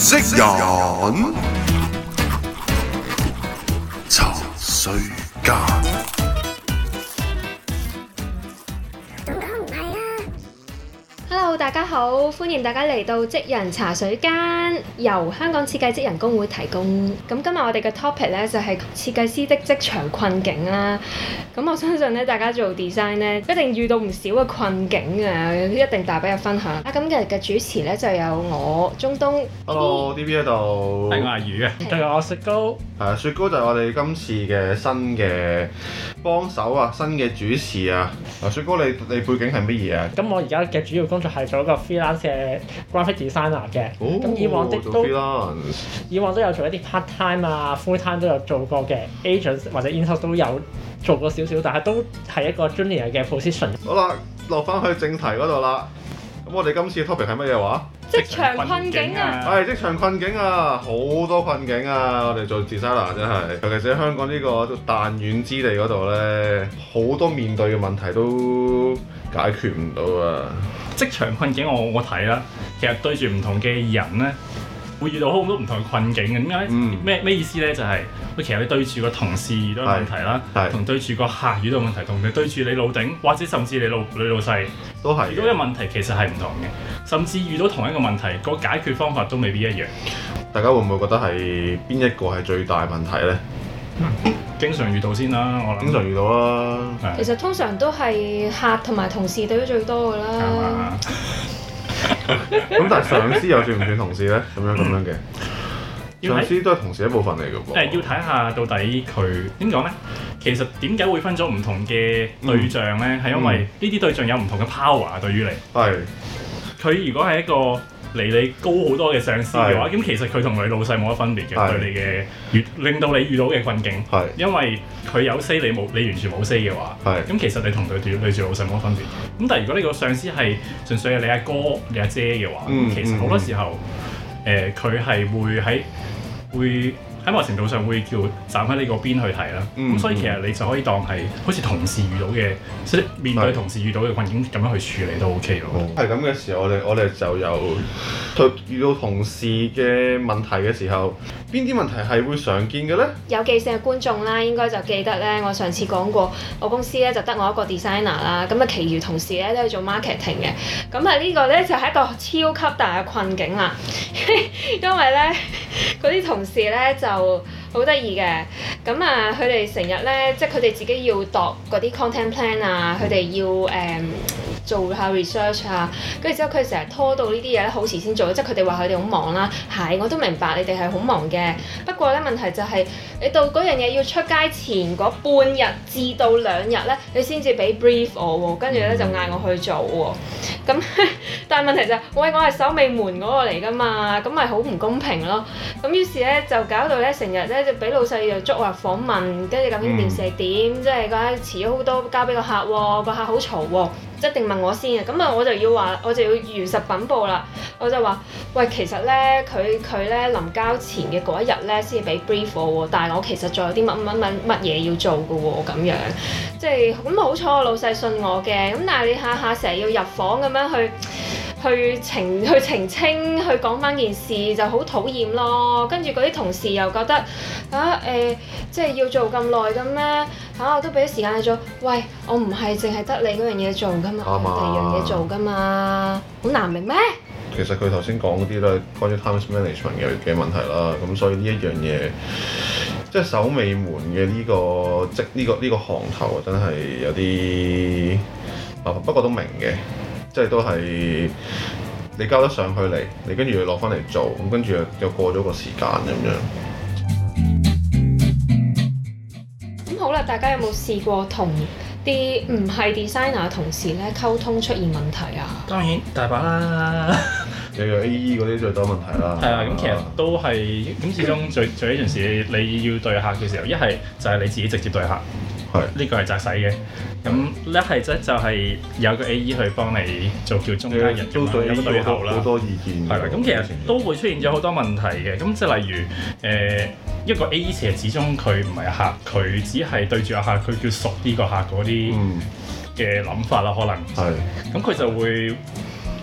職人茶水間。 Hello， 大家好，歡迎大家嚟到職人茶水間，由香港設計職人工會提供。咁今日我哋嘅 topic 咧就係設計師的職場困境啦。咁我相信咧，大家做 design 咧一定遇到唔少嘅困境啊，一定帶俾我分享。咁今日嘅主持咧就有我中東 Hello，DB 喺度。 係我阿魚嘅，仲有我雪糕。 雪糕就係我哋今次嘅新嘅幫手啊，新嘅主持啊。雪糕你背景係乜嘢啊？ 咁我而家嘅主要工作係做一個 freelance 嘅 graphic designer 嘅。咁、 哦、 以往的做都 freelance 以往都有做一啲 part time 啊 full time 都有做過嘅 agents 或者 in-house 都有做過少少，但係都係一個 junior 嘅 position。 好啦，落翻去正題嗰度啦。咁我哋今次嘅 topic 係乜嘢話？ 職場困境啊！ 係職場困境啊，好多困境啊！我哋做 designer 真係，尤其是喺香港呢個彈丸之地嗰度咧，好多面對嘅問題都解決唔到啊！ 職場困境我睇啦，其實對住唔同嘅人咧，會遇到好多唔同嘅困境嘅。點解？咩意思咧？就係其實你對住個同事遇到問題啦，同對住個客遇到問題，同你對住你老頂或者甚至你老細都係遇到嘅問題其實係唔同嘅，甚至遇到同一個問題，個解決方法都未必一樣。 大家會唔會覺得係邊一個係最大問題咧？ 經常遇到先啦，我諗。經常遇到啦。 其實通常都係客同埋同事對得最多㗎啦。 咁但係上司又算唔算同事咧？咁樣嘅。上司都係同事一部分嚟嘅噃。 要睇下到底佢點講咧？其實點解會分咗唔同嘅對象咧？係因為呢啲對象有唔同嘅 power 對於你。係。佢如果係一個離你高好多嘅上司嘅話，咁其實佢同你老細冇乜分別嘅，對你嘅令到你遇到嘅困境。係。因為佢有 say 你完全冇 say 嘅話，咁其實你同對住老細冇乜分別。咁但係如果你個上司係純粹係你阿哥、你阿姐嘅話，其實好多時候，佢係會喺某程度上會叫站喺你嗰邊去睇啦。咁所以其實你就可以當係好似同事遇到嘅，即係面對同事遇到嘅困境咁樣去處理都 OK 咯。 係咁嘅時候，我哋就由遇到同事嘅問題嘅時候，邊啲問題係會常見嘅咧？ 有記性嘅觀眾啦，應該就記得咧，我上次講過，我公司咧就得我一個 designer 啦，咁啊，其餘同事咧都係做 marketing 嘅。咁啊，呢個咧就係一個超級大嘅困境啦，因為咧嗰啲同事咧就好得意嘅，咁啊，佢哋成日咧，即係佢哋自己要度嗰啲 content plan 啊，佢哋要做下 research 啊，跟住之後佢成日拖到呢啲嘢咧好遲先做，即係佢哋話佢哋好忙啦。係，我都明白你哋係好忙嘅，不過咧問題就係你到嗰樣嘢要出街前嗰半日至到2日咧，你先至俾 brief 我喎，跟住咧就嗌我去做喎。咁但係問題就係，喂，我係守尾門嗰個嚟㗎嘛，咁咪好唔公平咯。咁於是咧就搞到咧成日咧就俾老細又捉話訪問，跟住究竟件事係點，即係講遲咗好多交俾個客喎，個客好嘈喎。一定問我先嘅，咁啊我就要如實稟報啦。我就話：喂，其實咧佢咧臨交前嘅嗰一日咧先至俾 brief 我喎，但係我其實仲有啲乜嘢要做嘅喎，咁樣即係咁好彩我老細信我嘅，咁但係你下下成日要入房咁樣去澄清，去講翻件事就好討厭咯。跟住嗰啲同事又覺得即係要做咁耐嘅咩？我都俾啲時間你做。喂，我唔係淨係得你嗰樣嘢做㗎嘛，我第二樣嘢做㗎嘛，好難明咩？ 其實佢頭先講嗰啲都係關於 time management 嘅問題啦。咁所以呢一樣嘢，即係守尾門嘅呢個行頭真係有啲麻煩，不過都明嘅。即係都係你交得上去嚟，你跟住落翻嚟做，咁跟住又過咗個時間咁樣。 咁好啦，大家有冇試過同啲唔係 designer 嘅同事咧溝通出現問題啊？ 當然大把啦， 有 AE 嗰啲最多問題啦。 係啊，咁其實都係咁，始終做呢件事你要對客嘅時候，一係就係你自己直接對客。呢個係責使嘅，咁一係就係有個 AE 去幫你做叫中間人， 都對有個對口啦， 好多意見。 係啦，咁其實都會出現咗好多問題嘅，咁即係例如一個 AE 其實始終佢唔係客，佢只係對住阿客，佢叫熟啲個客嗰啲嘅諗法啦，可能係，咁佢就會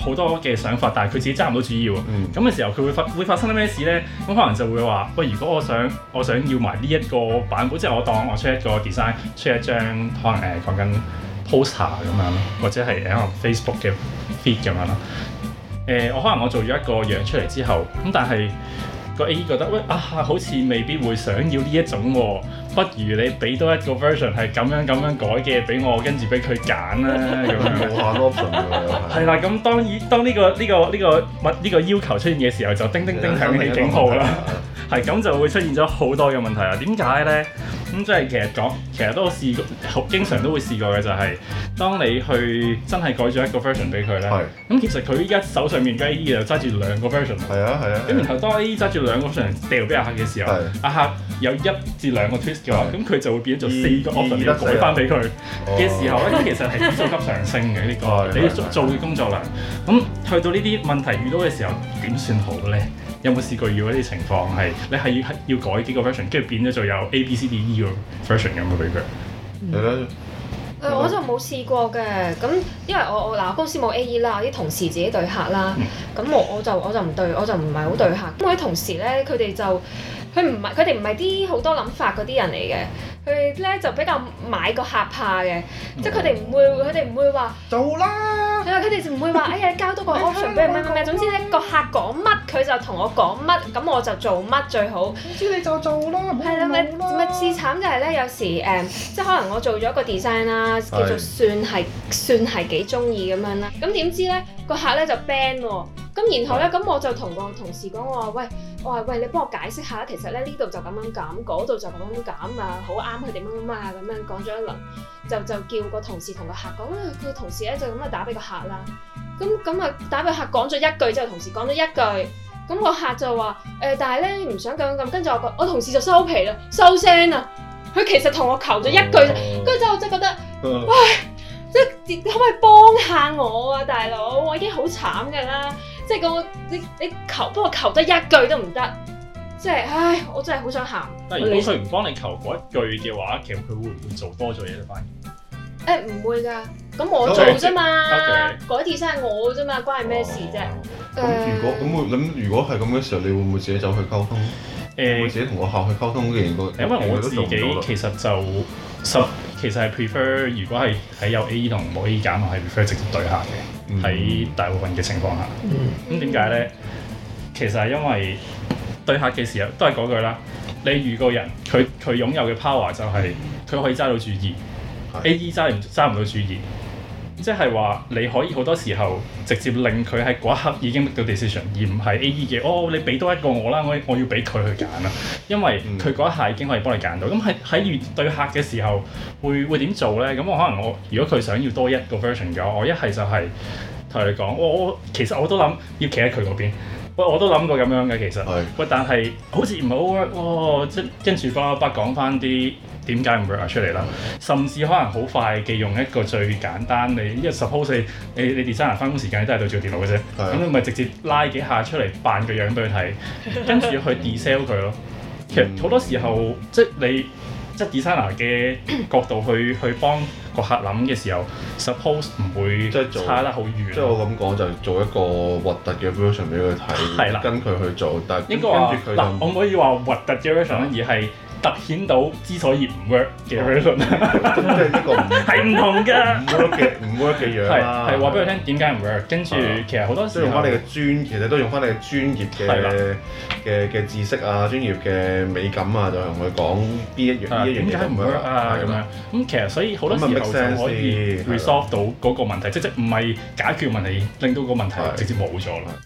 好多嘅想法，但係佢自己揸唔到主意喎。咁嘅時候佢會發生啲咩事咧？咁可能就會話喂，如果我想要埋呢一個版本，即係我當我出一個 design， 出一張可能講緊 poster 咁樣咯，或者係可能 Facebook 嘅 feed 咁樣咯。我可能我做咗一個樣出嚟之後，咁但係個 AE 覺得喂好似未必會想要呢一種喎，不如你俾多一個 version 係咁樣改嘅俾我，跟住俾佢揀啦咁樣。 無限 option 㗎係啦，咁當呢個要求出現嘅時候，就叮叮叮響起警號啦。係咁就會出現咗好多嘅問題啦。點解咧？咁即係其實都試過，經常都會試過嘅就係、當你去真係改咗一個 version 俾佢咧，咁其實佢依家手上面嘅 AE 就揸住兩個 version。係啊。咁然後當 AE 揸住兩個 version 掉俾阿客嘅時候，阿客有1至2個 twist 嘅話，咁佢就會變咗做4個 option 要改翻俾佢嘅時候咧，咁其實係指數級上升嘅呢個你做嘅工作量。咁去到呢啲問題遇到嘅時候，點算好咧？有冇試過遇到呢啲情況係你係要改幾個 version， 跟住變咗做有 A、B、C、D、E 個 version 咁嘅俾佢？ 我就冇試過嘅，咁因為我公司冇 AE 啦，我啲同事自己對客啦，咁我就唔係好對客。咁我啲同事咧，佢哋唔係啲好多諗法嗰啲人嚟嘅，佢哋咧就比較買個客怕嘅，即係佢哋唔會話做啦， 係啊，佢哋就唔會話哎呀交多個 option 俾佢咩，總之咧個客講乜佢就同我講乜，咁我就做乜最好。總之你就做啦，係啦，咪至慘就係咧，有時即係可能我做咗個 design 啦，叫做算係幾中意咁樣啦，咁點知咧個客咧就 ban 喎。咁然後咧，咁我就同個同事講，我話喂，你幫我解釋下，其實咧呢度就咁樣減，嗰度就咁樣減啊，好啱佢點樣啊，咁樣講咗一輪，就叫個同事同個客講，佢同事咧就咁啊打俾個客啦，咁啊打俾個客講咗一句之後，同事講咗一句，咁個客就話但係咧唔想咁，跟住我同事就收皮啦，收聲啦，佢其實同我求咗一句，跟住之後就覺得，喂，即係可唔可以幫下我啊，大佬，我已經好慘㗎啦。即係你求幫我求得一句都唔得，即係唉，我真係好想喊。 但係如果佢唔幫你求嗰一句嘅話，其實佢會唔會做多咗嘢咧？反而唔會㗎，咁我做啫嘛，改 design 我啫嘛，關係咩事啫？ 如果係咁嘅時候，你會唔會自己走去溝通？會自己同個客去溝通嘅因為我自己其實就其實係 prefer 如果係喺有 AE 同冇 AE 揀，我係 prefer 直接對客嘅。喺大部分嘅情況下，咁點解咧？其實係因為對客嘅時候都係嗰句啦。你遇個人，佢擁有嘅 power 就係佢可以揸到主意，AE 揸唔到主意。即係話你可以好多時候直接令佢喺嗰一刻已經 make 到 decision， 而唔係 AE 嘅你俾多一個我啦，我要俾佢去揀啦，因為佢嗰一下已經可以幫你揀到。咁喺對客嘅時候會點做咧？咁我可能如果佢想要多一個 version 嘅話，我一係就係同你講，其實我都諗要企喺佢嗰邊。我都諗過咁樣嘅其實，但係好似唔好 work 喎，即跟住巴講翻啲點解唔 work 出嚟啦，甚至可能好快嘅用一個最簡單，因為 suppose 你 designer 翻工時間你都係對住電腦嘅啫，咁你咪直接拉幾下出嚟扮個樣俾佢睇，跟住去 de-sell 佢咯。其實好多時候即係 designer 嘅角度去幫個客諗嘅時候 ，suppose 唔會差得好遠。 即係我咁講就做一個核突嘅 version 俾佢睇，跟佢去做，但係跟住佢就我唔可以話核突嘅 version，而係突顯到之所以唔 work 嘅 version， 即係呢個係唔同㗎， 唔 work 嘅樣啦。 係話俾佢聽點解唔 work， 跟住其實好多時候用翻你嘅其實都用翻你嘅專業嘅知識啊、專業嘅美感啊，就同佢講呢一樣點解唔 work 啊咁樣。咁其實所以好多時候就可以 resolve 到嗰個問題，即唔係解決問題，令到個問題直接冇咗啦。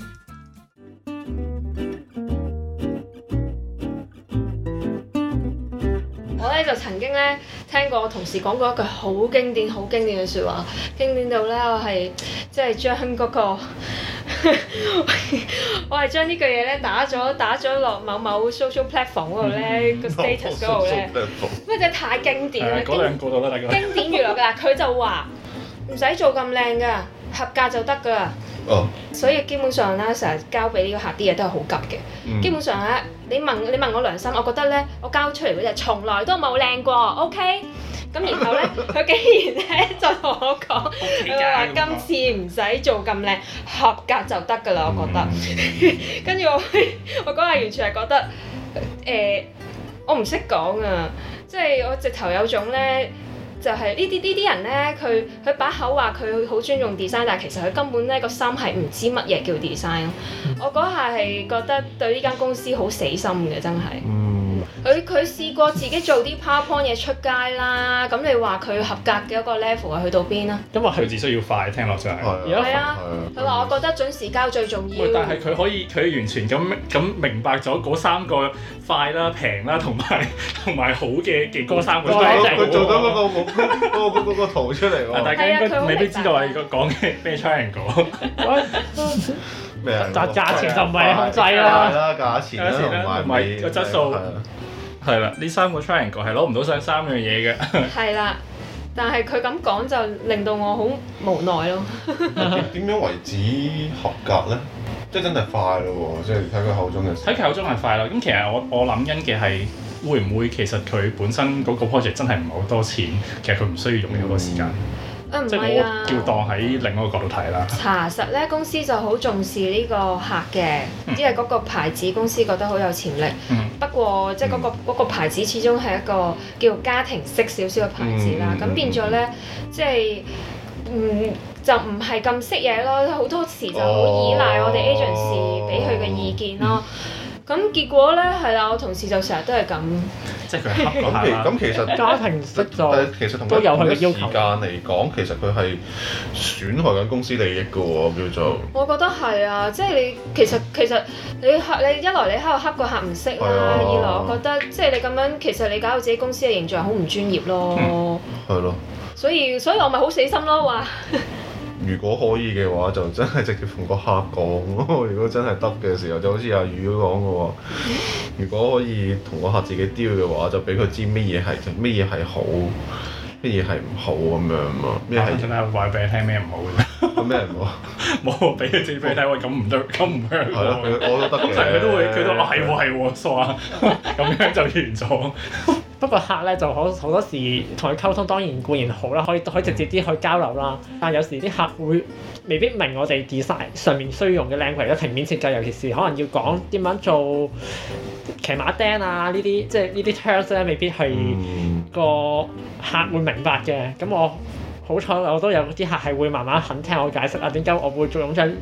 就曾經咧聽過我同事講過一句好經典嘅説話，經典到咧我係即係將嗰個我係將呢句嘢咧打咗落某 social platform 嗰度咧個 status 嗰度咧，因為真係太經典啦！ 嗰兩個都得㗎。 經典娛樂㗎，佢就話唔使做咁靚㗎，合格就得㗎。所以基本上咧，成日交俾呢個客啲嘢都係好急嘅。基本上咧，你問我良心，我覺得咧，我交出嚟嗰隻從來都冇靚過，OK？ 咁然後咧，佢竟然咧就同我講，佢話今次唔使做咁靚，合格就得㗎啦，我覺得。跟住我嗰日完全係覺得，我唔識講啊，即係我直頭有種咧。就係呢啲人咧，佢把口話佢好尊重 design， 但係其實佢根本咧個心係唔知乜嘢叫 design 咯。我嗰下係覺得對呢間公司好死心嘅，真係。佢試過自己做啲 PowerPoint 嘢出街啦，咁你話佢合格嘅一個 level 係去到邊啊？ 因為佢只需要快，聽落就係。 係啊，佢話我覺得準時交最重要。 但係佢完全咁明白咗嗰3個快啦、平啦同埋好嘅嗰3個。 佢做咗嗰個圖出嚟喎。 大家應該未必知道係講嘅咩 triangle。 咩啊？ 價錢就唔係控制啦， 價錢啦同埋個質素。係啦，呢3個 triangle 係攞唔到上3樣嘢嘅。 係啦，但係佢咁講就令到我好無奈咯。 點樣為止合格咧？即係真係快咯喎！即係睇佢口中嘅。 睇佢口中係快啦。咁其實我諗緊嘅係會唔會其實佢本身嗰個 project 真係唔係好多錢，其實佢唔需要用咁多時間。即係我叫當喺另一個角度睇啦。 查實咧，公司就好重視呢個客嘅，因為嗰個牌子公司覺得好有潛力。不過即係嗰個牌子始終係一個叫家庭式少少嘅牌子啦。咁變咗咧，即係就唔係咁識嘢咯。好多時就好依賴我哋 agency 俾佢嘅意見咯。咁結果咧係啦，我同事就成日都係咁。 即係佢黑嗰下啦。 咁其實家庭式就其實同都有佢嘅要求。 時間嚟講，其實佢係損害緊公司利益嘅喎，叫做。我覺得係啊，即係你其實你一來你喺度黑個客唔識啦，二來我覺得即係你咁樣其實你搞到自己公司嘅形象好唔專業咯。 係咯。所以我咪好死心咯話。 如果可以嘅話，就真係直接同個客講咯。如果真係得嘅時候，就好似阿宇都講嘅喎。如果可以同個客自己 deal 嘅話，就俾佢知乜嘢係好，乜嘢係唔好咁樣嘛。咩係真係話俾你聽咩唔好嘅？ 咁咩唔好？ 冇俾佢自己俾你睇，喂咁唔得，咁唔香喎。 係咯，我都得嘅。 通常佢都係喎，傻啊！咁樣就完咗。 不過客咧就好多時同佢溝通當然固然好啦，可以直接啲去交流啦。但係有時啲客會未必明我哋 design 上面需要用嘅 language，平面設計，尤其是可能要講點樣做騎馬釘啊呢啲，即係呢啲 terms 咧未必係個客會明白嘅。咁我好彩我都有啲客係會慢慢肯聽我解釋啊，點解我會用張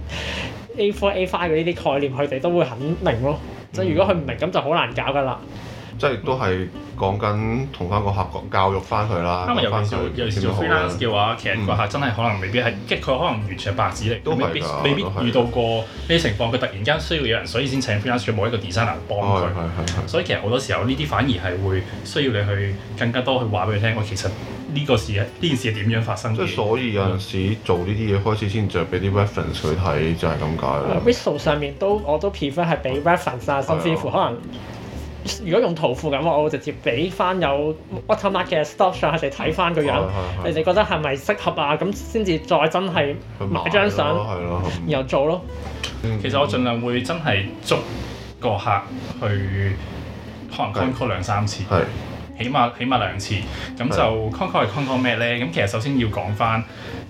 A4、A5 嘅呢啲概念，佢哋都會肯明咯。即係如果佢唔明咁就好難搞㗎啦。 即係都係講緊同翻個客講教育翻佢啦。 因為尤其是做 freelance 嘅話，其實個客真係可能未必係，即係佢可能完全係白紙嚟，未必遇到過呢啲情況。佢突然間需要有人，所以先請 freelance，佢冇一個 designer 幫佢。所以其實好多時候呢啲反而係會需要你去更加多去話俾佢聽。我其實呢件事係點樣發生嘅？ 即係所以有陣時做呢啲嘢開始先就俾啲 reference 佢睇，就係咁解啦。 Visual 上面我都 prefer 係俾 reference 啊，甚至乎可能。如果用圖庫咁，我會直接俾翻有 watermark 嘅 stock shot，佢哋睇翻個樣，你哋覺得係咪適合啊？咁先至再真係買張相，然後做咯。 其實我盡量會真係捉個客去可能 con call 2-3次，起碼2次。咁就 con call 係 con call 咩咧？咁其實首先要講翻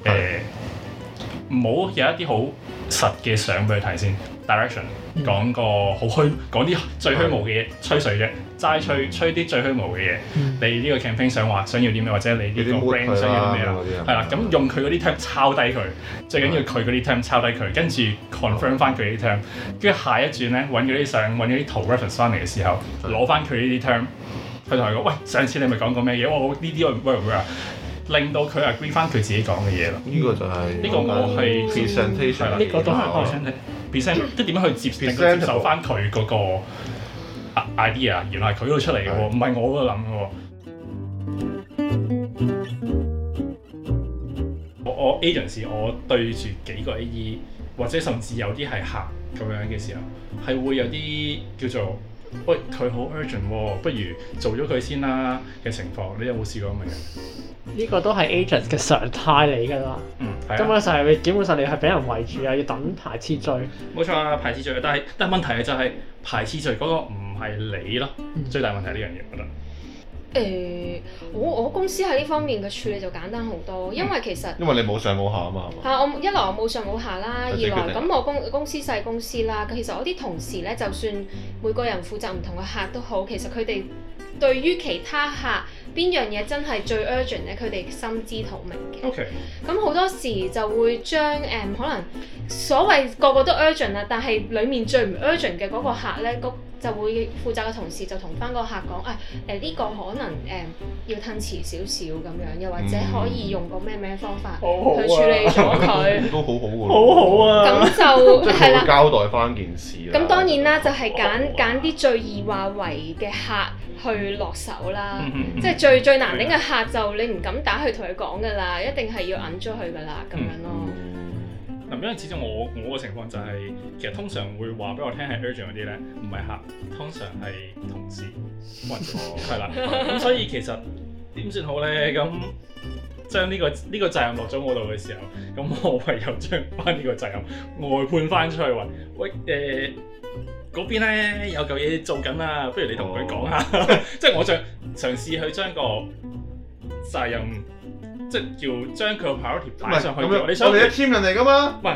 唔好有一啲好實嘅相俾佢睇先。direction 講個好虛，講啲最虛無嘅嘢，吹水啫，齋吹啲最虛無嘅嘢。你呢個 campaign 想要啲咩，或者你呢個 brand 想要啲咩啦？係啦，咁用佢嗰啲 term 抄低佢，最緊要佢嗰啲 term 抄低佢，跟住 confirm 翻佢啲 term， 跟住下一轉咧揾嗰啲相，揾嗰啲圖 reference 翻嚟嘅時候，攞翻佢呢啲 term， 佢同佢講：喂，上次你咪講過咩嘢？我呢啲我唔會啊！令到佢 agree 翻佢自己講嘅嘢啦。 呢個就係呢個我係 presentation 啦。 呢個都係 present，即係點樣去接受翻佢嗰個 idea， 原來係佢度出嚟嘅喎，唔係我嗰度諗嘅喎。我 agency 我對住幾個 AE， 或者甚至有啲係客咁樣嘅時候，係會有啲叫做喂佢好 urgent 喎，不如做咗佢先啦嘅情況。你有冇試過咁嘅？ 呢個都係 agent 嘅常態嚟㗎啦。根本上你係俾人圍住啊，要等排次序。 冇錯啊，排次序。但係問題就係排次序嗰個唔係你咯。最大問題係呢樣嘢，我覺得。 我公司喺呢方面嘅處理就簡單好多，因為其實因為你冇上冇下啊嘛，係嘛？ 一來我冇上冇下啦，二來咁我公司細公司啦，其實我啲同事咧，就算每個人負責唔同嘅客都好，其實佢哋對於其他客邊樣嘢真係最 urgent 咧，佢哋心知肚明嘅。 OK。 咁好多時就會將可能所謂個個都 urgent 啦，但係裡面最唔 urgent 嘅嗰個客咧，就會負責嘅同事就同翻個客講，呢個可能要褪遲少少咁樣，又或者可以用個咩方法去處理咗佢， 都好好喎， 好好啊！ 咁就係啦， 交代翻件事啦。 咁當然啦，就係揀啲最易話為嘅客去落手啦，即係最難頂嘅客就你唔敢打去同佢講㗎啦，一定係要揞咗佢㗎啦，咁樣咯。 因為始終我個情況就係，其實通常會話俾我聽係 urgent 嗰啲咧，唔係客，通常係同事或者係啦。咁所以其實點算好咧？咁將呢個責任落咗我度嘅時候，咁我唯有將翻呢個責任外判翻出去話，喂嗰邊咧有嚿嘢做緊啊，不如你同佢講下。即係我想嘗試去將個責任。即係叫將佢個 priority 擺上去。你想我哋一 team 人嚟㗎嘛？唔係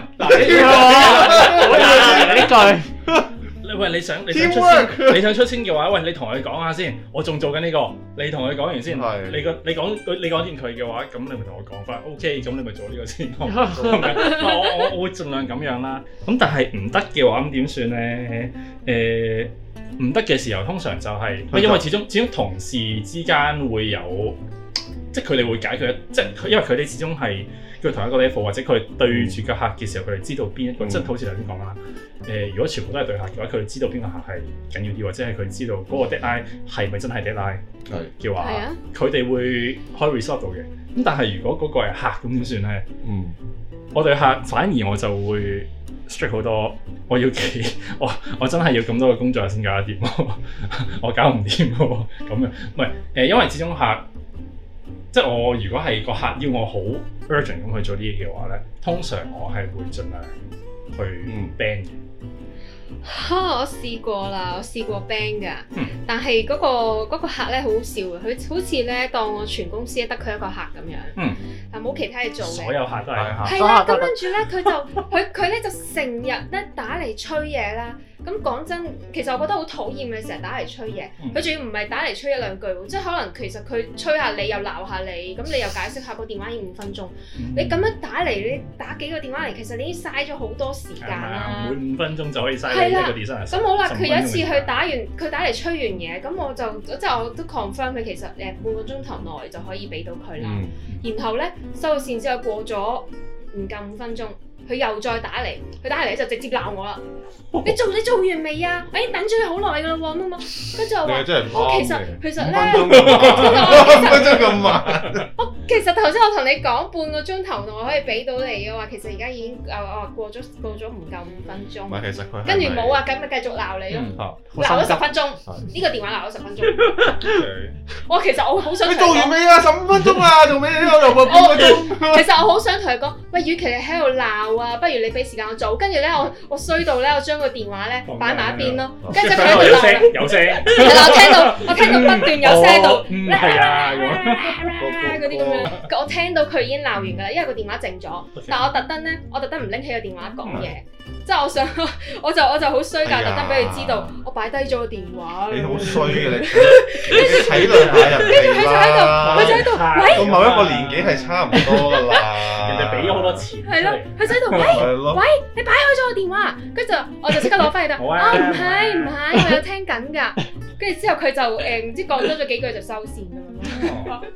嗱，呢句。喂，你想出先嘅話，喂，你同佢講下先。我仲做緊呢個，你同佢講完先。你講掂佢嘅話，咁你咪同我講翻。OK，咁你咪做呢個先咯。我會盡量咁樣啦。咁但係唔得嘅話，咁點算咧？唔得嘅時候，通常就係因為始終同事之間會有。即係佢哋會解決，即係因為佢哋始終係佢同一個 level，或者佢對住個客嘅時候，佢哋知道邊一個，即係好似頭先講啦。如果全部都係對客嘅話，佢哋知道邊個客係緊要啲，或者係佢知道嗰個 deadline 係咪真係 deadline 嘅話，佢哋會可以 resolve 到嘅。咁但係如果嗰個係客，咁點算咧？我對客反而我就會 strict 好多，我真係要咁多嘅工作先搞得掂，我搞唔掂喎。咁樣唔係因為始終客。即係我如果係個客要我好 urgent 咁去做啲嘢嘅話咧，通常我係會盡量去 ban 嘅。 我試過啦，我試過 ban 㗎，但係嗰個客咧好好笑嘅，佢好似咧當我全公司得佢一個客咁樣，但冇其他嘢做嘅。所有客都係客。係啦，咁跟住咧佢咧就成日咧打嚟催嘢啦。咁講真，其實我覺得好討厭嘅，成日打嚟催嘢。佢仲要唔係打嚟催一兩句喎，即係可能其實佢催下你又鬧下你，咁你又解釋下個電話已經5分鐘。你咁樣打嚟，你打幾個電話嚟，其實你已經嘥咗好多時間啦。每5分鐘就可以嘥一個 design。咁好啦，佢有一次佢打嚟催完嘢，咁我都 confirm 佢其實半個鐘頭內就可以俾到佢啦。然後咧收到線之後過咗唔夠5分鐘。佢又再打嚟，佢打嚟就直接鬧我啦！你做完未啊？我已經等咗你好耐㗎啦喎，乜乜？跟住我話：其實咧，5分鐘咁慢。其實頭先我同你講半個鐘頭內可以俾到你嘅話，其實而家已經過咗唔夠5分鐘。唔係，其實佢跟住冇啊，咁咪繼續鬧你咯，鬧咗10分鐘。呢個電話鬧咗10分鐘。我其實我好想你做完未啊？15分鐘啊，仲未又半個鐘。其實我好想同佢講，喂，與其你喺度鬧啊，不如你俾時間我做。跟住咧，我衰到咧，我將個電話咧擺埋一邊咯。跟住佢喺度鬧，有聲。係啦，我聽到不斷有聲到，係啊，嗰啲咁樣。我聽到佢已經鬧完㗎啦，因為個電話靜咗。但係我特登唔拎起個電話講嘢。即係我就好衰㗎，特登俾佢知道我擺低咗個電話。你好衰嘅你，體諒下人哋啦。佢就喺度，喂，到某一個年紀係差唔多㗎啦。人哋俾咗好多錢。係咯，佢就喺度，喂，你擺開咗個電話，跟住我就即刻攞翻嚟啦。唔係，我有聽緊㗎。跟住之後佢就唔知講多咗幾句就收線咁樣。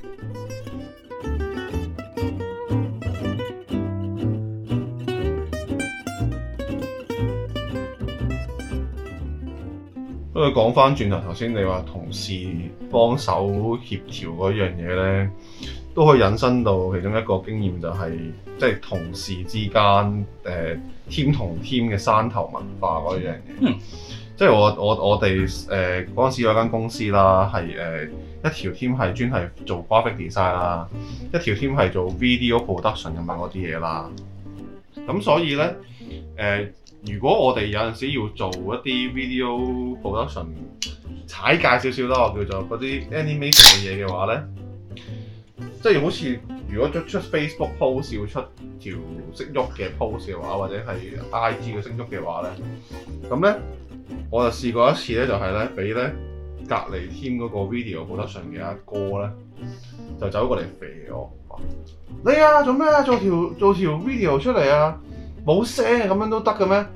不過講翻轉頭先你話同事幫手協調嗰樣嘢咧，都可以引申到其中一個經驗就係、即係同事之間team 同 team 嘅山頭文化嗰樣嘢。即係我哋嗰陣時有間公司啦，係一條 team 係專係做 graphic design 啦，一條 team 係做 video production 咁樣嗰啲嘢啦。咁所以咧如果我哋有陣時要做一啲 video production， 踩界少少啦，我叫做嗰啲 animation 嘅嘢嘅話咧，即係好似如果出 Facebook post 要出條識喐嘅 post 嘅話，或者係 IG 嘅識喐嘅話咧，咁咧我就試過一次咧，就係咧俾咧隔離 team 嗰個 video production 嘅阿哥咧，就走過嚟肥我，你啊做咩啊？做條 video 出嚟啊，冇聲咁樣都得嘅咩？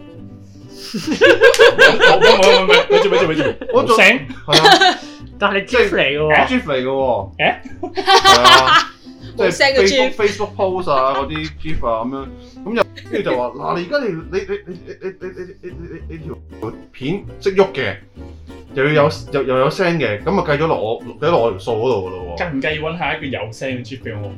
冇，咪住，我做聲係啊， 但係你 GIF 嚟嘅喎 ，GIF 嚟嘅喎，係啊，即係 Facebook post 啊嗰啲 GIF 啊咁樣，咁又跟住就話嗱，你而家你條片識喐嘅，又有聲嘅，咁啊計咗落我條數嗰度嘅咯喎。 計唔計揾下一個有聲嘅 GIF 俾我？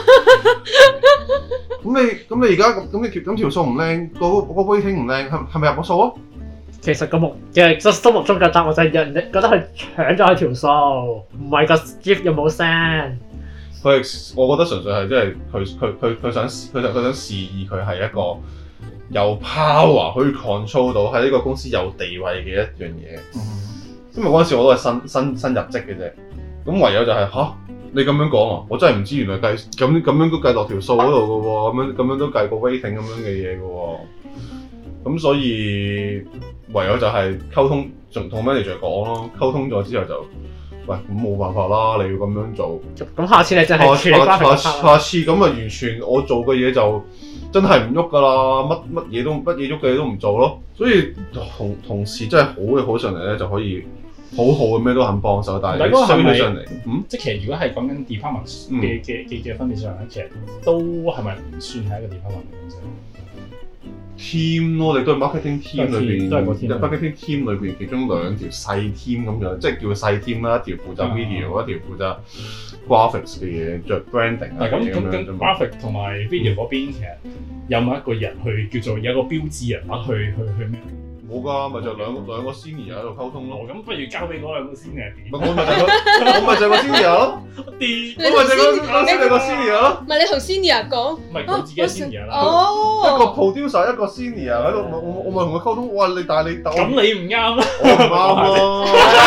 咁你而家咁條數唔靚，個 rating 唔靚，係咪入我數啊？ 其實個心目中嘅答案就係人哋覺得佢搶咗佢條數，唔係個 GIF 有冇聲。 我覺得純粹係即係佢想示意佢係一個有 power 可以 control 到喺呢個公司有地位嘅一樣嘢。因為嗰陣時我都係新入職嘅啫，咁唯有就係你咁樣講啊，我真係唔知原來咁樣都計落條數嗰度嘅喎，咁樣都計個 rating 咁樣嘅嘢嘅喎，咁所以唯有就係溝通，同 manager 講咯，溝通咗之後就，喂，咁冇辦法啦，你要咁樣做， 咁下次你真係下次咁啊，完全我做嘅嘢就真係唔喐㗎啦，乜嘢喐嘅嘢都唔做咯，所以同事真係好嘅好上嚟咧就可以。好嘅咩都肯幫手，但係衰起上嚟， 即係其實如果係講緊 department 嘅分別上咧，其實都係咪唔算係一個 department 嘅啫 ？team 咯，你都係 marketing team 裏邊， 都係個 marketing team 裏邊其中兩條細 team 咁樣，即係叫細 team 啦，一條負責 video，一條負責 graphics 嘅嘢，著 branding 啊咁樣啫嘛。 graphic 同埋 video 嗰邊其實有冇一個人去叫做有個標誌人物去咩？ 冇㗎，咪就兩個 senior 喺度溝通咯。 咁不如交俾嗰兩個 senior 點？ 我咪就係個 senior 咯。我咪就係個 senior 咯。 唔係你同 senior 講， 唔係佢自己 senior 啦。 一個 producer 一個 senior 喺度，我咪同佢溝通。哇！但係你咁你唔啱啦。 我唔啱咯。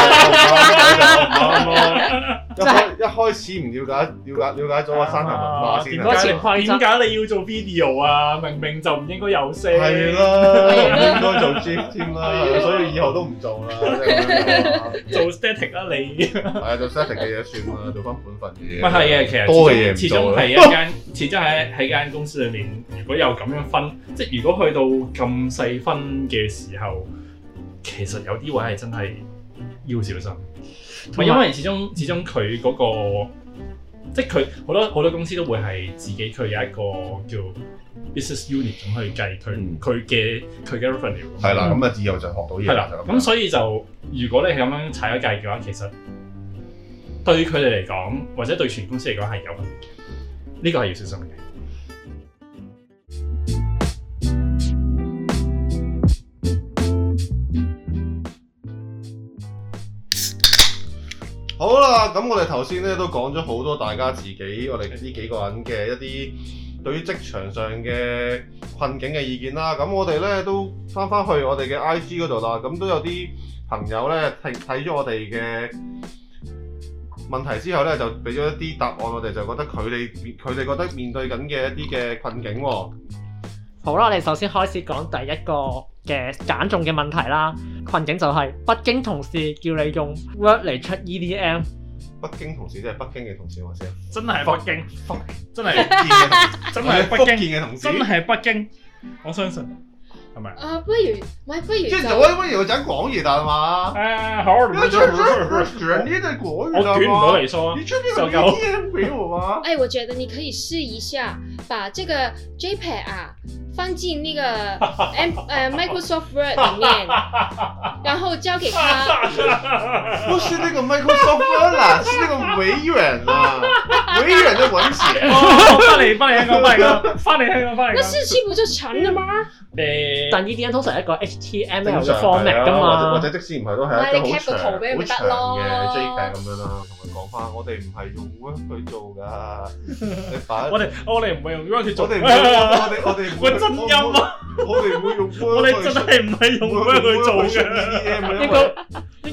唔啱咯。一開始唔了解咗個山頭文化先。 點解你要做 video 啊？明明就唔應該有聲。 係啦，唔應該做 GIF 添啦，所以以後都唔做啦。 做 static 啦你。 係啊，做 static 嘅嘢算啦，做翻本份嘅嘢。 唔係嘅，其實多嘅嘢唔做。 始終係一間，始終喺間公司裏面，如果有咁樣分，即係如果去到咁細分嘅時候，其實有啲位係真係要小心。因為始終佢嗰個，即係佢好多公司都會係自己佢有一個叫 business unit 咁去計佢嘅 revenue。 係啦，咁啊以後就學到嘢。 係啦，咁所以就如果你係咁樣踩咗計嘅話，其實對佢哋嚟講，或者對全公司嚟講係有問題嘅，呢個係要小心嘅。 好啦，咁我哋頭先咧都講咗好多大家自己，我哋呢幾個人嘅一啲對於職場上嘅困境嘅意見啦。咁我哋咧都翻去我哋嘅 IG 嗰度啦。咁都有啲朋友咧睇咗我哋嘅問題之後咧，就俾咗一啲答案，我哋就覺得佢哋覺得面對緊嘅一啲嘅困境喎。 好啦，我哋首先開始講第一個嘅揀中嘅問題啦。困境就係北京同事叫你用 Word 嚟出 EDM。 北京同事即係北京嘅同事，我先。 真係北京，真係真係北京嘅同事， 真係北京，我相信係咪？ 不如即係不如我講廣語得嘛？ 好， 你在捲呢對國語， 我捲唔到嚟說。 你確定有 EDM 俾我嗎？ 我覺得你可以試一下，把這個 JPEG 啊放進那個Microsoft Word 裡面，然後交給他。 不是那個 Microsoft Word 啦，是那個微軟啊，微軟的文字。 翻嚟香港。 那日期不就成了嗎？ 但 EDM 通常係一個 HTML 嘅 format 㗎嘛， 或者即使唔係都係一個好長嘅 JPEG 咁樣啦。同佢講翻，我哋唔係用 Word 去做㗎。 我哋唔係用 Word 去做。 我哋個真音啊！ 我哋唔會用 Word。 我哋真係唔係用 Word 去做嘅。 應該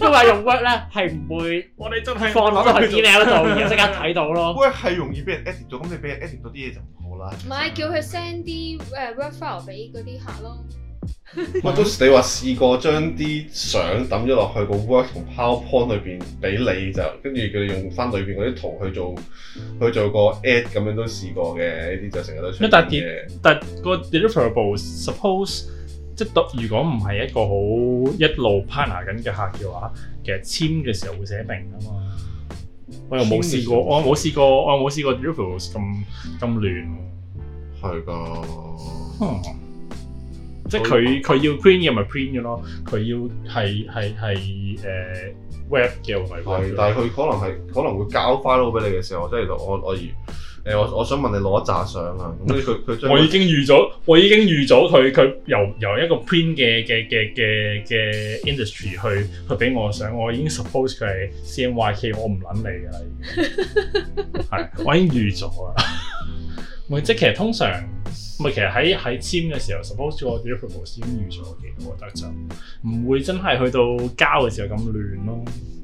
般話用 Word 咧係唔會我哋真係放落去 email 度，而家即刻睇到咯。 Word 係容易俾人 edit 到，咁你俾人 edit 到啲嘢就唔好啦。 唔係叫佢 send 啲Word file 俾嗰啲客咯。 我都你話試過將啲相抌咗落去個 Word 同 PowerPoint 裏邊俾你就，跟住佢哋用翻裏邊嗰啲圖去做個 add 咁樣都試過嘅，呢啲就成日都出現嘅。 但個 deliverable suppose 即係如果唔係一個好一路 partner 緊嘅客嘅話，其實簽嘅時候會寫明啊嘛。我又冇試過，我冇試過 deliverables 咁亂。 係㗎。 即係佢要 print 嘅咪 print 嘅咯，佢要係web 嘅咪 web 嘅。 但係佢可能會交 file 俾你嘅時候，即係我想問你攞一紮相啊，咁佢將我已經預咗佢由一個 print 嘅 industry 去俾我相，我已經 suppose 佢係 CMYK， 我唔撚你㗎啦，已經係我已經預咗啦。咪即係其實通常。其實喺簽嘅時候 ，suppose 個 deliverable 已經預咗嘅，我覺得就唔會真係去到交嘅時候咁亂咯。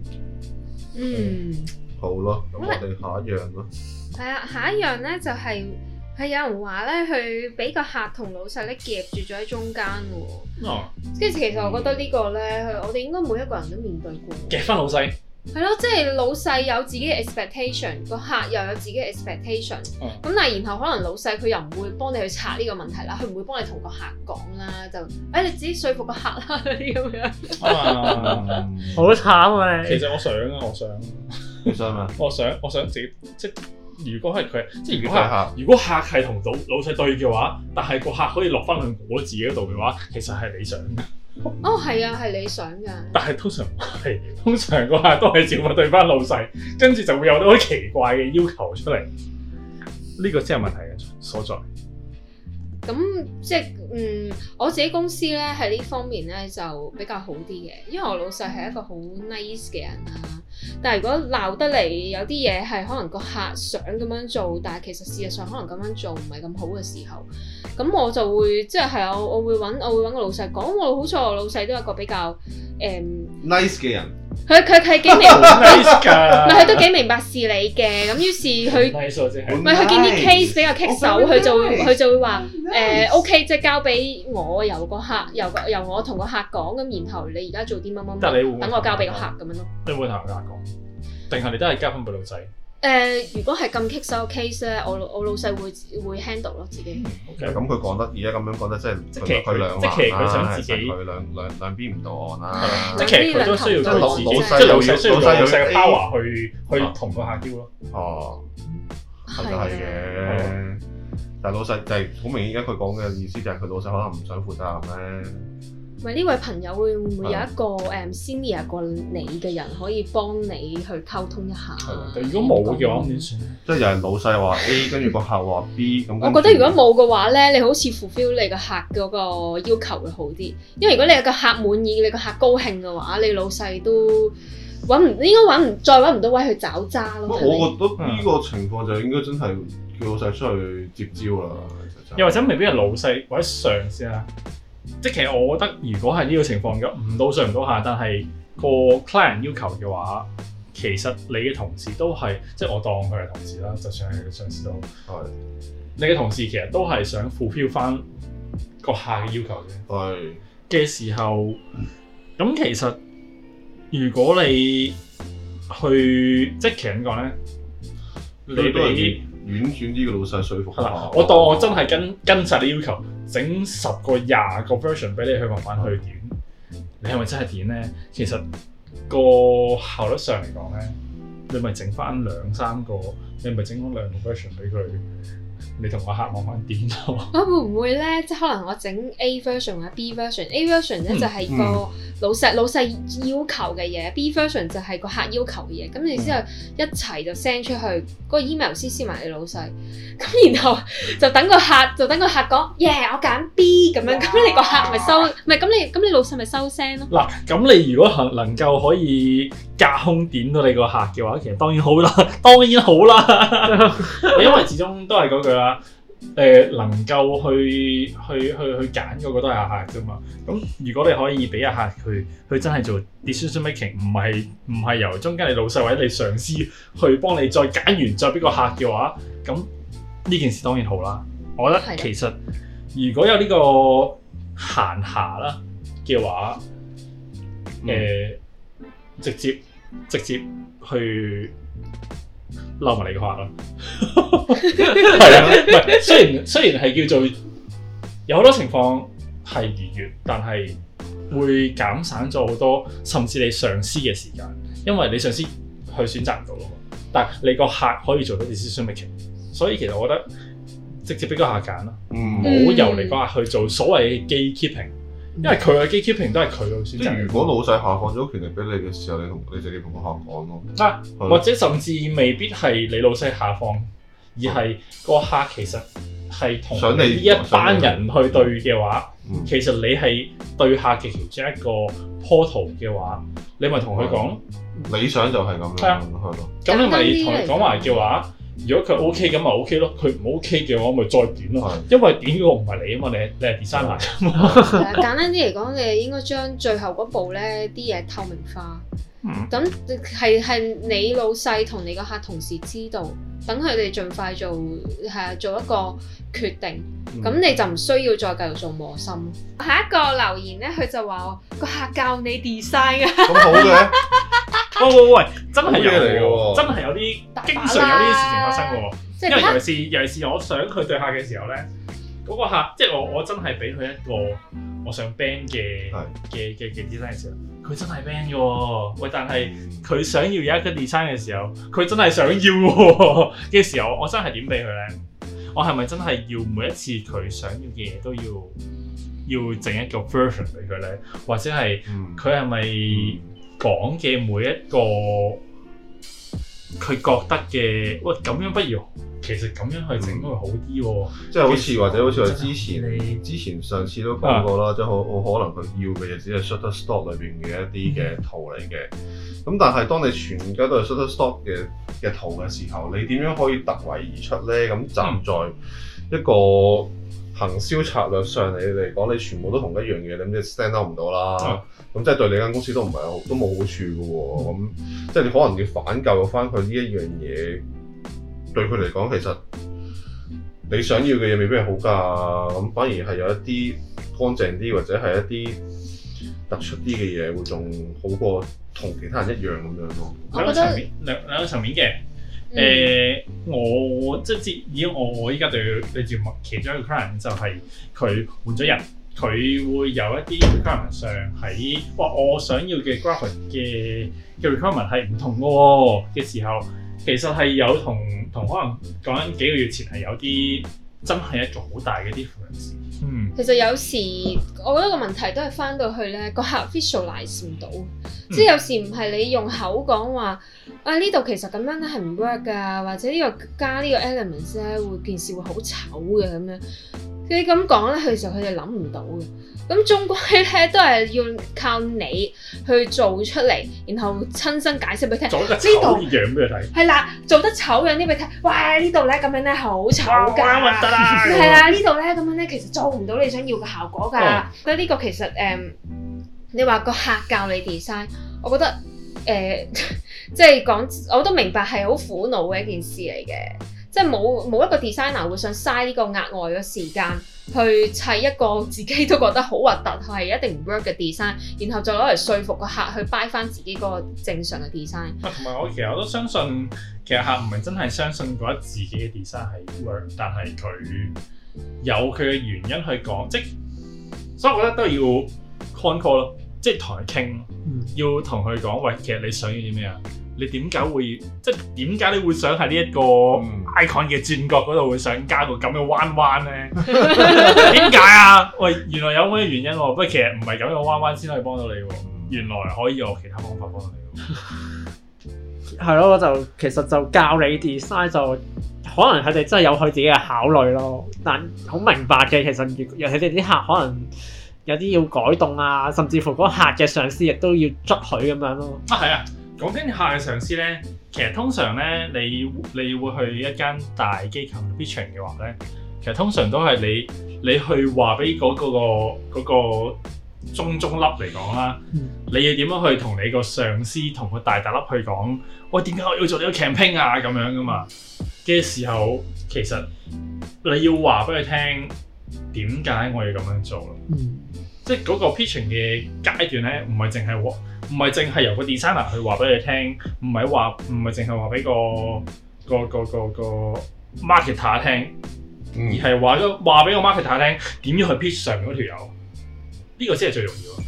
好咯，咁我哋下一樣咯。 係啊，下一樣咧就係有人話咧，佢俾個客同老細咧夾住咗喺中間喎。跟住其實我覺得呢個咧，我哋應該每一個人都面對過。 夾翻老細。 係咯，即係老細有自己嘅 expectation， 個客又有自己嘅 expectation。咁但係然後可能老細佢又唔會幫你去拆呢個問題啦，佢唔會幫你同個客講啦，就你自己說服個客啦嗰啲咁樣。 好慘啊！ 其實我想你想咩？ 我想自己即係如果係佢，即係如果客係同老細對嘅話，但係個客可以落翻去我自己嗰度嘅話，其實係理想嘅。 哦，係啊，係理想㗎。但係通常個客都係照顧對翻老細，跟住就會有啲好奇怪嘅要求出嚟。呢個先係問題嘅所在。 咁即係我自己公司咧喺呢方面咧就比較好啲嘅，因為我老細係一個好 nice 嘅人啦。但係如果鬧得嚟有啲嘢係可能個客想咁樣做，但係其實事實上可能咁樣做唔係咁好嘅時候，咁我就會即係我會揾個老細講。我好彩我老細都係一個比較 nice 嘅人。 佢係幾明白，唔係佢都幾明白事理嘅。咁於是佢唔係佢見啲 case 比較棘手，佢就會話OK， 即係交俾我由我同個客講，咁然後你而家做啲乜乜乜，等我交俾個客咁樣咯。 你會同個客講，定係你都係交翻俾老細？ 如果係咁棘手嘅 case 咧，我老細會 handle 咯自己。 咁佢講得而家咁樣講得，即係佢兩難啦，佢兩邊唔到岸啦。 即係其實佢都需要佢自己，即係老細嘅 power 去同個客交咯。 哦，咁就係嘅。但係老細就係好明顯，而家佢講嘅意思就係佢老細可能唔想負責任咧。 唔係呢位朋友會唔會有一個senior 過你嘅人可以幫你去溝通一下？ 如果冇嘅話，咁點算咧？ 即係有人老細話 A， 跟住個客話 B 咁。 我覺得如果冇嘅話咧，你好似 fulfill 你個客嗰個要求會好啲，因為如果你有個客滿意，你個客高興嘅話，你老細都再揾唔到位去找渣咯。 我覺得呢個情況就應該真係叫老細出去接招啦。 又或者未必係老細或者上司啦。即係其實我覺得，如果係呢個情況嘅，唔到上唔到下，但係個 client 要求嘅話，其實你嘅同事都係，即係我當佢係同事啦，就算係上司都係。你嘅同事其實都係想 fulfill 翻個客嘅要求嘅。嘅時候，咁其實如果你去即係其實點講咧，你俾婉轉啲嘅老細說服下。 我當我真係跟晒你要求，整10個20個 version 俾你去慢慢去點，你係咪真係點咧？其實個效率上嚟講咧，你咪整翻2、3個，你咪整翻2個 version 俾佢，你同個客慢慢點咯。 會唔會咧？即係可能我整 A version 或者 B version，A version 咧就係個老細要求嘅嘢，B version 就係個客要求嘅嘢。咁你之後一齊就 send 出去，嗰個 email CC 埋你老細。咁然後就等個客講，我揀 B 咁樣。咁你個客咪收，唔係咁你老細咪收聲咯。 嗱，咁你如果能夠可以隔空點到你個客嘅話，其實當然好啦，因為始終都係嗰句啦。 能夠去揀嗰個都係阿客啫嘛。咁如果你可以俾阿客佢真係做 decision making，唔係由中間你老細或者你上司去幫你再揀完再俾個客嘅話，咁呢件事當然好啦。我覺得其實如果有呢個閒暇啦嘅話，直接去嬲埋你個客咯。係啊，唔係雖然係叫做有好多情況係逾越，但係會減省咗好多，甚至你上司嘅時間，因為你上司去選擇唔到咯，但係你個客可以做到 decision making， 所以其實我覺得直接俾個客揀啦，唔好由你個客去做所謂嘅 gatekeeping。因為佢嘅 gatekeeping 都係佢嘅選擇。即係如果老細下放咗權力俾你嘅時候，你直接同個客講咯。 或者甚至未必係你老細下放，而係個客其實係同你呢一班人去對嘅話，其實你係對客嘅其中一個 portal 嘅話，你咪同佢講。 理想就係咁樣，係咯。 咁你咪同佢講埋嘅話。如果佢 OK 咁咪 OK 咯，佢唔 OK 嘅話咪再點咯，因為點嗰個唔係你啊嘛，你係 designer 㗎嘛。 簡單啲嚟講，你應該將最後嗰步咧啲嘢透明化，咁係你老細同你個客同時知道，等佢哋盡快做一個決定，咁你就唔需要再繼續做磨心。下一個留言咧，佢就話個客教你 design 啊， 咁好嘅。 喂，真係有喎，真係有啲經常有呢啲事情發生喎。因為尤其是我想佢對客嘅時候咧，嗰個客即係我真係俾佢一個我想 band 嘅 design 嘅時候，佢真係 band 嘅喎。喂，但係佢想要有一個 design 嘅時候，佢真係想要嘅時候，我真係點俾佢咧？我係咪真係要每一次佢想要嘅嘢都要整一個 version 俾佢咧？或者係佢係咪？講嘅每一個佢覺得嘅，喂咁樣不如其實咁樣去整會好啲喎。 即係好似我之前上次都講過啦，即係好可能佢要嘅嘢只係 Shutterstock 裏邊嘅一啲嘅圖嚟嘅。咁但係當你全家都係 Shutterstock 嘅圖嘅時候，你點樣可以突圍而出咧？咁站在一個行銷策略上嚟講，你全部都同一樣嘢，咁即係 stand out 唔到啦。咁即係對你間公司都冇好處嘅喎。咁即係你可能要反究翻佢呢一樣嘢，對佢嚟講其實你想要嘅嘢未必係好㗎。咁反而係有一啲乾淨啲或者係一啲突出啲嘅嘢，會仲好過同其他人一樣咁樣咯。 兩個層面嘅。我即係以我依家對節目其中一個 client 就係佢換咗人，佢會有一啲 requirement 上喺我想要嘅 graphic 嘅 requirement 係唔同嘅時候，其實係有同可能講緊幾個月前係有啲真係一個好大嘅 difference。 其實有時我覺得個問題都係翻到去咧，個客 visualize 唔到，即係有時唔係你用口講話呢度其實咁樣咧係唔 work 㗎，或者呢個加呢個 elements 咧件事會好醜嘅咁樣。你咁講咧，其實佢哋諗唔到嘅。咁終歸咧都係要靠你去做出嚟，然後親身解釋俾你聽。 做得醜樣俾佢睇。係啦，做得醜樣啲俾佢睇。喂，呢度咧咁樣咧好醜㗎。 核突啦！ 係啦，呢度咧咁樣咧其實做唔到你想要嘅效果㗎。覺得呢個其實你話個客教你 design， 我覺得即係講我都明白係好苦惱嘅一件事嚟嘅。即係冇一個 designer 會想嘥呢個額外嘅時間去砌一個自己都覺得好核突係一定唔 work 嘅 design， 然後再攞嚟說服個客去 buy 翻自己嗰個正常嘅 design。 同埋我都相信，其實客唔係真係相信覺得自己嘅 design 係 work， 但係佢有佢嘅原因去講，所以我覺得都要 con call 咯，即係同佢傾，要同佢講，喂，其實你想要啲咩啊？你點解會點解你會想喺呢一個 icon 嘅轉角嗰度會想加個咁嘅彎彎咧？點解啊？喂，原來有咩原因喎？不過其實唔係咁樣彎彎先可以幫到你喎，原來可以有其他方法幫到你喎。 係咯，其實就教你 design 就可能佢哋真係有佢自己嘅考慮咯，但好明白嘅。其實尤其是啲客可能有啲要改動啊，甚至乎嗰個客嘅上司亦都要捉佢咁樣咯。 係啊。講緊客嘅上司咧，其實通常咧，你會去一間大機構 pitching 嘅話咧， 其實通常都係你去話俾嗰個中粒嚟講啦，你要點樣去同你個上司同個大粒去講，喂，點解我要做呢個 campaign 啊咁樣噶嘛嘅時候，其實你要話俾佢聽點解我要咁樣做咯。即係嗰個 pitching 嘅階段咧，唔係淨係由個 designer 去話俾你聽，唔係淨係話俾個 marketer 聽，而係話俾個 marketer 聽點樣去 pitch 上面嗰條友，呢個先係最重要啊！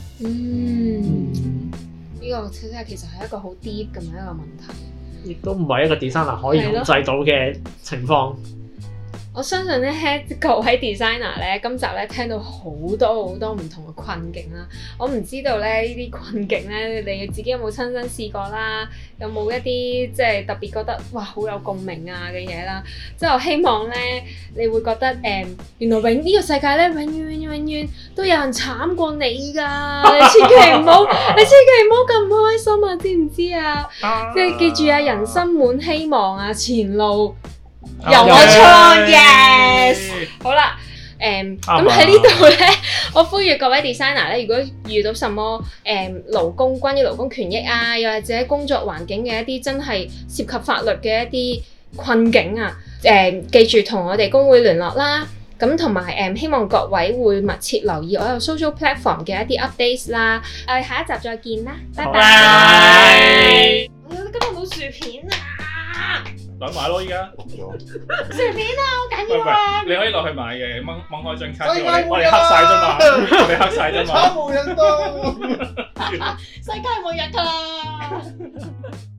呢個其實係一個好 deep 咁樣一個問題， 亦都唔係一個 designer 可以控制到嘅情況。 我相信咧，各位 designer 咧，今集咧聽到好多唔同嘅困境啦。我唔知道咧呢啲困境咧，你自己有冇親身試過啦？有冇一啲即係特別覺得哇好有共鳴啊嘅嘢啦？即係我希望咧，你會覺得原來呢個世界咧永遠都有人慘過你㗎。你千祈唔好咁開心啊！知唔知啊？即係記住啊，人生滿希望啊，前路由我創 ，yes， 好啦，咁喺呢度咧，我呼籲各位 designer 咧，如果遇到什麼關於勞工權益啊，又或者工作環境嘅一啲真係涉及法律嘅一啲困境啊，記住同我哋工會聯絡啦。咁同埋希望各位會密切留意我有 social platform 嘅一啲 updates 啦。我哋下一集再見啦，拜拜。今日冇薯片啊！ 攞買咯，依家薯片啊，好緊要啊！ 你可以落去買嘅，掹開張卡，我哋黑晒啫嘛，我哋黑晒啫嘛。 世界末日㗎啦！